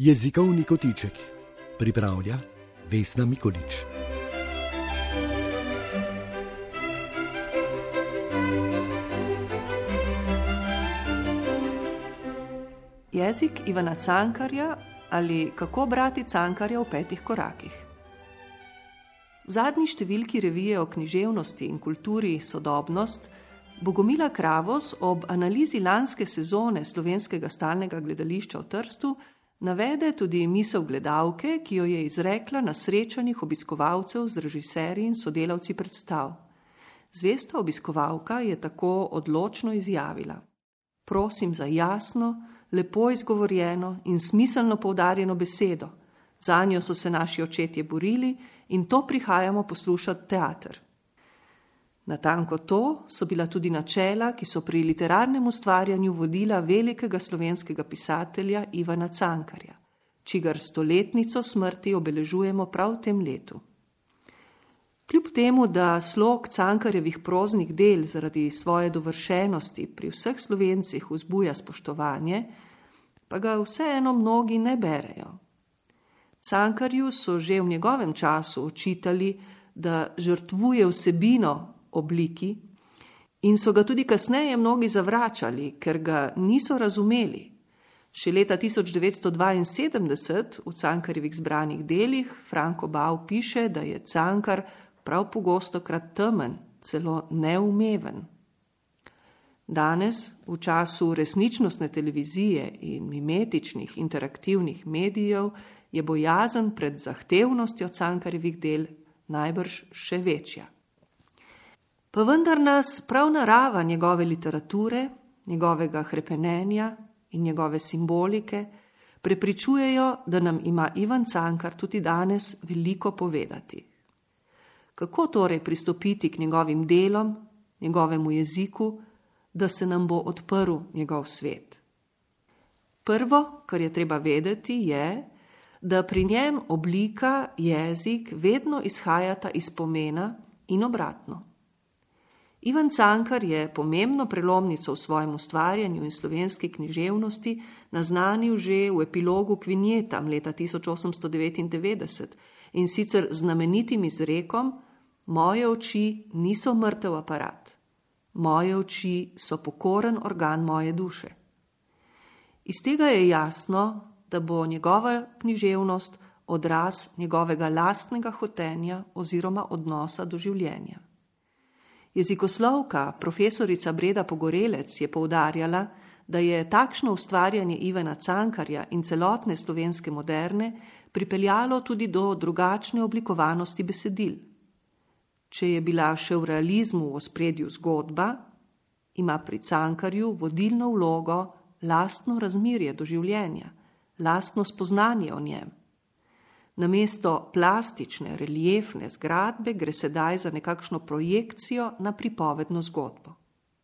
Jezikovni kotiček pripravlja Vesna Mikolič. Jezik Ivana Cankarja ali kako brati Cankarja v 5 korakih. V zadnji številki revije o književnosti in kulturi Sodobnost Bogomila Kravos ob analizi lanske sezone Slovenskega stalnega gledališča v Trstu navede tudi misel gledalke, ki jo je izrekla na srečanjih obiskovalcev z režiserji in sodelavci predstav. Zvesta obiskovalka je tako odločno izjavila: prosim za jasno, lepo izgovorjeno in smiselno poudarjeno besedo. Zanjo so se naši očetje borili in to prihajamo poslušati teater. Natanko to so bila tudi načela, ki so pri literarnem ustvarjanju vodila velikega slovenskega pisatelja Ivana Cankarja, čigar 100-letnico smrti obeležujemo prav v tem letu. Kljub temu, da slog Cankarjevih proznih del zaradi svoje dovršenosti pri vseh Slovencih vzbuja spoštovanje, pa ga vseeno mnogi ne berejo. Cankarju so že v njegovem času očitali, da žrtvuje vsebino obliki in so ga tudi kasneje mnogi zavračali, ker ga niso razumeli. Še leta 1972 v Cankarjevih zbranih delih Franko Bau piše, da je Cankar prav pogostokrat temen, celo neumeven. Danes, v času resničnostne televizije in mimetičnih interaktivnih medijev, je bojazen pred zahtevnostjo Cankarjevih del najbrž še večja. Pa vendar nas prav narava njegove literature, njegovega hrepenenja in njegove simbolike prepričujejo, da nam ima Ivan Cankar tudi danes veliko povedati. Kako torej pristopiti k njegovim delom, njegovemu jeziku, da se nam bo odprl njegov svet? Prvo, kar je treba vedeti, je, da pri njem oblika, jezik vedno izhajata iz pomena in obratno. Ivan Cankar je pomembno prelomnico v svojem ustvarjanju in slovenski književnosti naznanil že v epilogu k vinjetam leta 1899 in sicer znamenitim izrekom: moje oči niso mrtev aparat, moje oči so pokoren organ moje duše. Iz tega je jasno, da bo njegova književnost odraz njegovega lastnega hotenja oziroma odnosa do življenja. Jezikoslovka profesorica Breda Pogorelec je poudarjala, da je takšno ustvarjanje Ivana Cankarja in celotne slovenske moderne pripeljalo tudi do drugačne oblikovanosti besedil. Če je bila še v realizmu v ospredju zgodba, ima pri Cankarju vodilno vlogo lastno razmerje do življenja, lastno spoznanje o njem. Namesto plastične, reliefne zgradbe gre sedaj za nekakšno projekcijo na pripovedno zgodbo.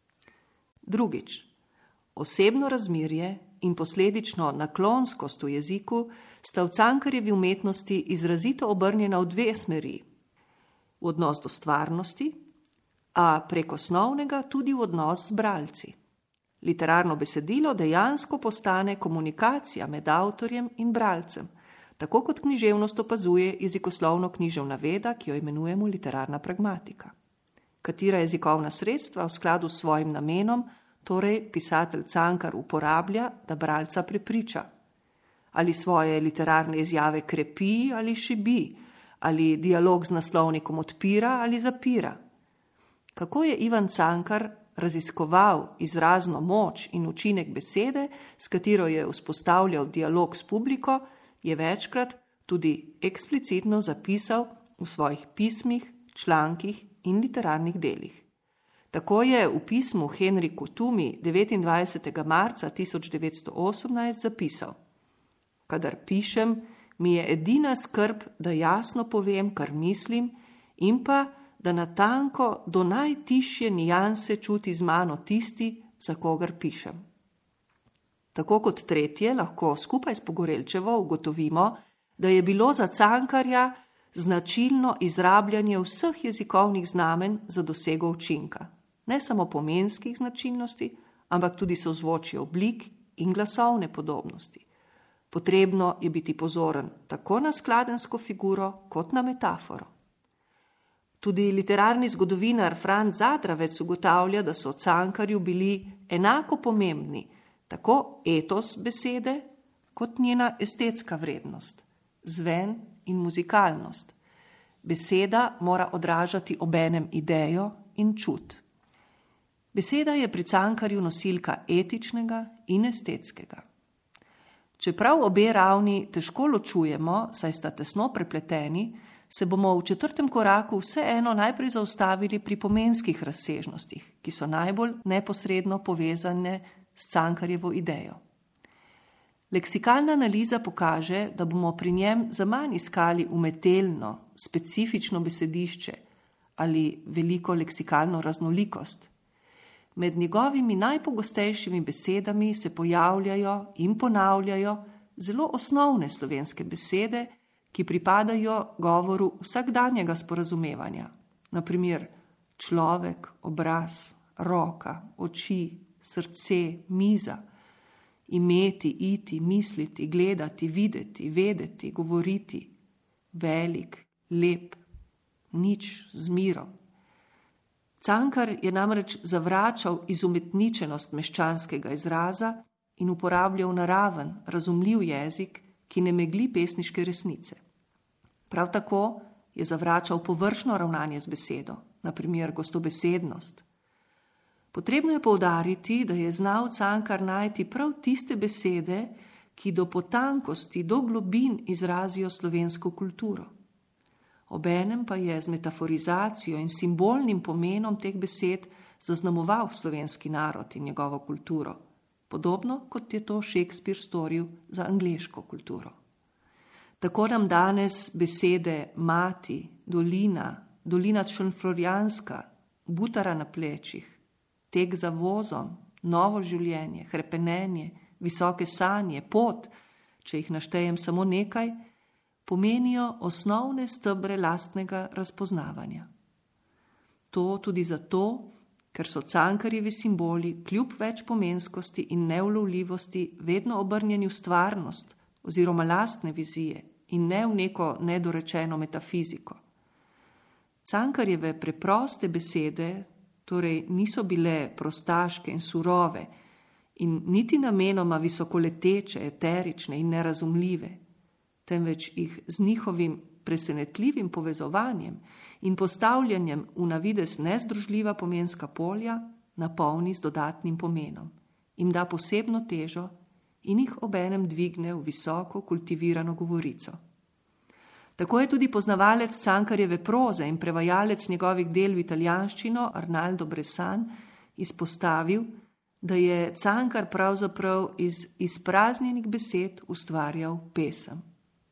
Drugič, osebno razmerje in posledično naklonskost v jeziku sta v Cankarjevi umetnosti izrazito obrnjena v 2 smeri. V odnos do stvarnosti, a prek osnovnega tudi v odnos z bralci. Literarno besedilo dejansko postane komunikacija med avtorjem in bralcem, tako kot književnost opazuje jezikoslovno-književna veda, ki jo imenujemo literarna pragmatika. Katera jezikovna sredstva v skladu s svojim namenom, torej pisatelj Cankar uporablja, da bralca prepriča? Ali svoje literarne izjave krepi ali šibi, ali dialog z naslovnikom odpira ali zapira? Kako je Ivan Cankar raziskoval izrazno moč in učinek besede, s katero je vzpostavljal dialog s publiko, je večkrat tudi eksplicitno zapisal v svojih pismih, člankih in literarnih delih. Tako je v pismu Henriku Tumi 29. marca 1918 zapisal: kadar pišem, mi je edina skrb, da jasno povem, kar mislim, in pa, da natanko do najtišje nijanse čuti z mano tisti, za kogar pišem. Tako kot tretje lahko skupaj s Pogorelčevo ugotovimo, da je bilo za Cankarja značilno izrabljanje vseh jezikovnih znamenj za dosego učinka, ne samo pomenskih značilnosti, ampak tudi sozvočje oblik in glasovne podobnosti. Potrebno je biti pozoren tako na skladensko figuro kot na metaforo. Tudi literarni zgodovinar Franc Zadravec ugotavlja, da so Cankarju bili enako pomembni tako etos besede kot njena estetska vrednost, zven in muzikalnost. Beseda mora odražati obenem idejo in čut. Beseda je pri Cankarju nosilka etičnega in estetskega. Čeprav obe ravni težko ločujemo, saj sta tesno prepleteni, se bomo v 4. koraku vseeno najprej zaustavili pri pomenskih razsežnostih, ki so najbolj neposredno povezane s Cankarjevo idejo. Leksikalna analiza pokaže, da bomo pri njem zaman iskali umetelno, specifično besedišče ali veliko leksikalno raznolikost. Med njegovimi najpogostejšimi besedami se pojavljajo in ponavljajo zelo osnovne slovenske besede, ki pripadajo govoru vsakdanjega sporazumevanja. Na primer človek, obraz, roka, oči, srce, miza, imeti, iti, misliti, gledati, videti, vedeti, govoriti, velik, lep, nič, z mirom. Cankar je namreč zavračal izumetničenost meščanskega izraza in uporabljal naraven, razumljiv jezik, ki ne megli pesniške resnice. Prav tako je zavračal površno ravnanje z besedo, na primer gostobesednost. Potrebno je poudariti, da je znal Cankar najti prav tiste besede, ki do potankosti, do globin izrazijo slovensko kulturo. Obenem pa je z metaforizacijo in simbolnim pomenom teh besed zaznamoval slovenski narod in njegovo kulturo, podobno kot je to Shakespeare storil za angleško kulturo. Tako nam danes besede mati, dolina, dolina šentflorjanska, butara na plečih, tek za vozom, novo življenje, hrepenenje, visoke sanje, pot, če jih naštejem samo nekaj, pomenijo osnovne stebre lastnega razpoznavanja. To tudi zato, ker so Cankarjevi simboli kljub večpomenskosti in neulovljivosti vedno obrnjeni v stvarnost oziroma lastne vizije in ne v neko nedorečeno metafiziko. Cankarjeve preproste besede torej niso bile prostaške in surove in niti namenoma visokoleteče, eterične in nerazumljive, temveč jih z njihovim presenetljivim povezovanjem in postavljanjem v navidez nezdružljiva pomenska polja napolni z dodatnim pomenom, jim da posebno težo in jih obenem dvigne v visoko kultivirano govorico. Tako je tudi poznavalec Cankarjeve proze in prevajalec njegovih del v italijanščino Arnaldo Bressan izpostavil, da je Cankar pravzaprav iz izpraznjenih besed ustvarjal pesem.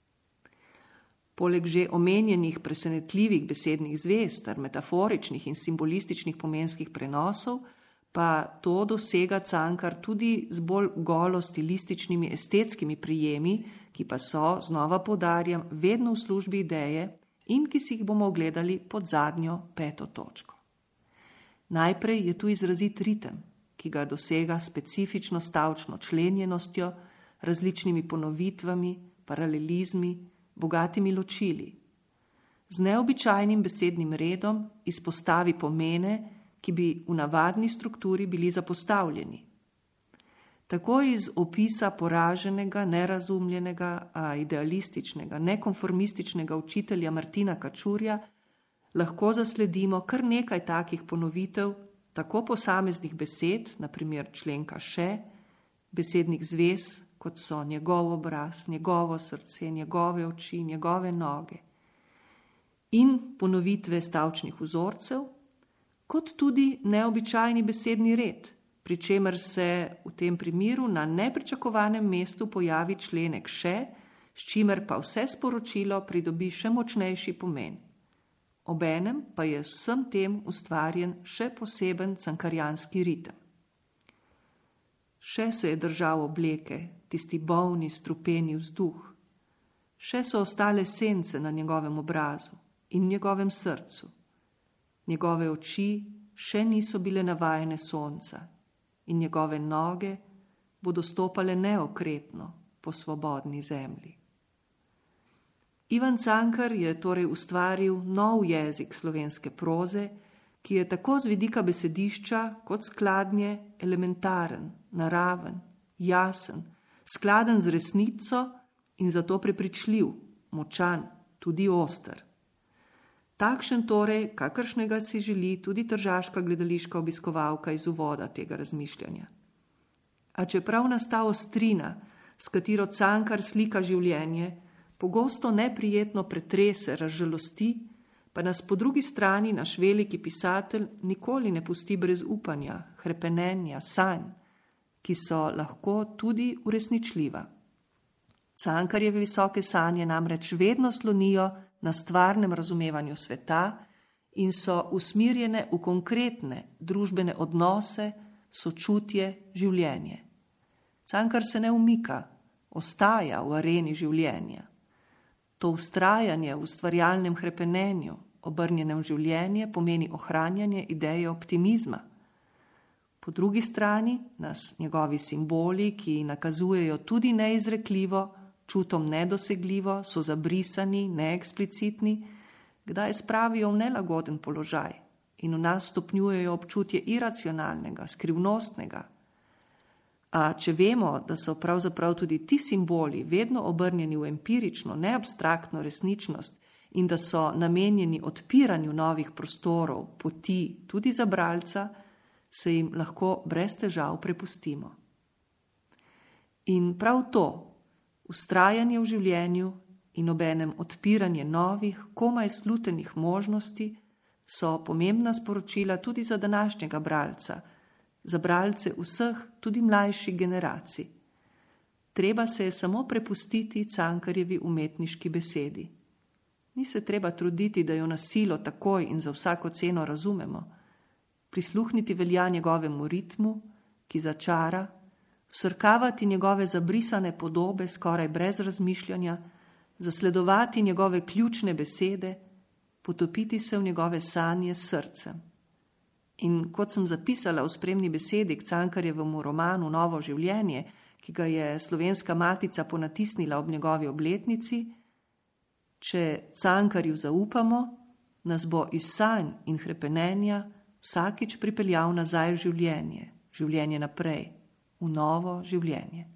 Poleg že omenjenih presenetljivih besednih zvez ter metaforičnih in simbolističnih pomenskih prenosov, pa to dosega Cankar tudi z bolj golo stilističnimi estetskimi prijemi, ki pa so, znova poudarjam, vedno v službi ideje in ki si jih bomo ogledali pod zadnjo 5. točko. Najprej je tu izrazit ritem, ki ga dosega specifično stavčno členjenostjo, različnimi ponovitvami, paralelizmi, bogatimi ločili. Z neobičajnim besednim redom izpostavi pomene, ki bi v navadni strukturi bili zapostavljeni. Tako iz opisa poraženega, nerazumljenega, a idealističnega, nekonformističnega učitelja Martina Kačurja lahko zasledimo kar nekaj takih ponovitev, tako posameznih besed, na primer členka še, besednih zvez, kot so njegov obraz, njegovo srce, njegove oči, njegove noge, in ponovitve stavčnih vzorcev, kot tudi neobičajni besedni red, pri čemer se v tem primeru na nepričakovanem mestu pojavi členek še, s čimer pa vse sporočilo pridobi še močnejši pomen. Obenem pa je vsem tem ustvarjen še poseben cankarjanski ritem. Še se je držal obleke, tisti bolni, strupeni vzduh. Še so ostale sence na njegovem obrazu in njegovem srcu. Njegove oči še niso bile navajene sonca in njegove noge bodo stopale neokretno, po svobodni zemlji. Ivan Cankar je torej ustvaril nov jezik slovenske proze, ki je tako z vidika besedišča kot skladnje elementaren, naraven, jasen, skladen z resnico in zato prepričljiv, močan, tudi oster. Takšen torej, kakršnega si želi tudi tržaška gledališka obiskovalka iz uvoda tega razmišljanja. A čeprav nas ta ostrina, s katero Cankar slika življenje, pogosto neprijetno pretrese, razžalosti, pa nas po drugi strani naš veliki pisatelj nikoli ne pusti brez upanja, hrepenenja, sanj, ki so lahko tudi uresničljiva. Cankarjeve visoke sanje namreč vedno slonijo na stvarnem razumevanju sveta in so usmirjene v konkretne družbene odnose, sočutje, življenje. Cankar se ne umika, ostaja v areni življenja. To vztrajanje v ustvarjalnem hrepenenju, obrnjenem življenje, pomeni ohranjanje ideje optimizma. Po drugi strani nas njegovi simboli, ki nakazujejo tudi neizrekljivo, čutom nedosegljivo, so zabrisani, neeksplicitni, kdaj spravijo v nelagoden položaj in v nas stopnjujejo občutje iracionalnega, skrivnostnega. A če vemo, da so pravzaprav tudi ti simboli vedno obrnjeni v empirično, neabstraktno resničnost in da so namenjeni odpiranju novih prostorov, poti, tudi za bralca, se jim lahko brez težav prepustimo. In prav to, vztrajanje v življenju in obenem odpiranje novih, komaj slutenih možnosti, so pomembna sporočila tudi za današnjega bralca, za bralce vseh, tudi mlajših generacij. Treba se je samo prepustiti Cankarjevi umetniški besedi. Ni se treba truditi, da jo na silo takoj in za vsako ceno razumemo. Prisluhniti velja njegovemu ritmu, ki začara, vsrkavati njegove zabrisane podobe skoraj brez razmišljanja, zasledovati njegove ključne besede, potopiti se v njegove sanje s srcem. In kot sem zapisala v spremni besedi k Cankarjevemu romanu Novo življenje, ki ga je Slovenska matica ponatisnila ob njegovi obletnici, če Cankarju zaupamo, nas bo iz sanj in hrepenenja vsakič pripeljal nazaj v življenje, življenje naprej, v novo življenje.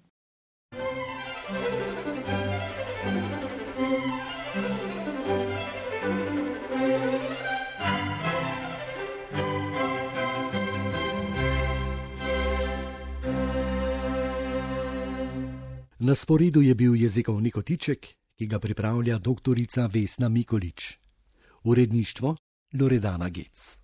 Na sporedu je bil jezikovni kotiček, ki ga pripravlja doktorica Vesna Mikolič. Uredništvo Loredana Gec.